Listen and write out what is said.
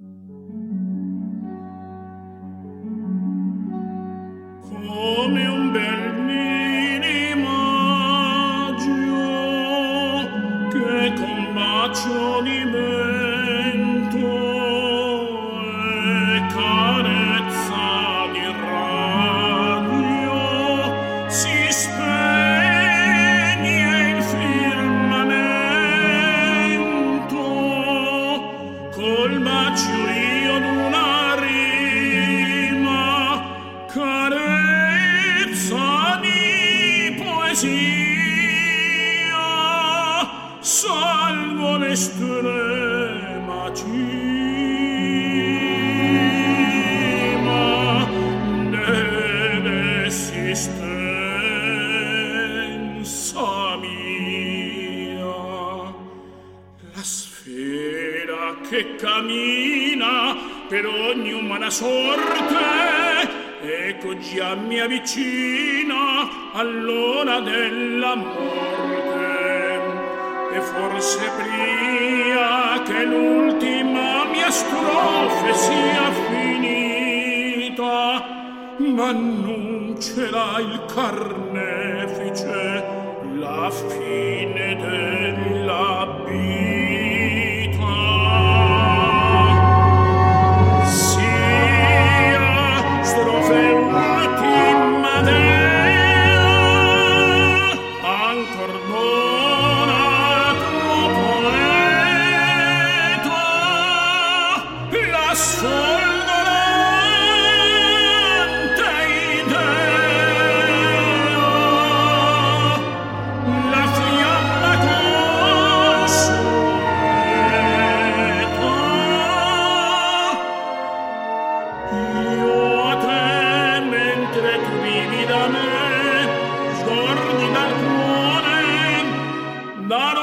Come un bel minimaggio che con bacio di mento e carezza di radio si spegne il firmamento col bacio io d'una rima carezza di poesia salvo l'estrema cima dell'esistenza mia. La sfera che cammina per ogni umana sorte, ecco già mi avvicina all'ora della morte. E forse pria che l'ultima mia strofe sia finita, ma non ce l'ha il carnefice la fine della vita. Sia strofe ultima dea, ancor dona tuo poeta la sfolgorante idea, la fiamma consueta. Io a te, mentre tu vivi da me, scordi dal cuore, darò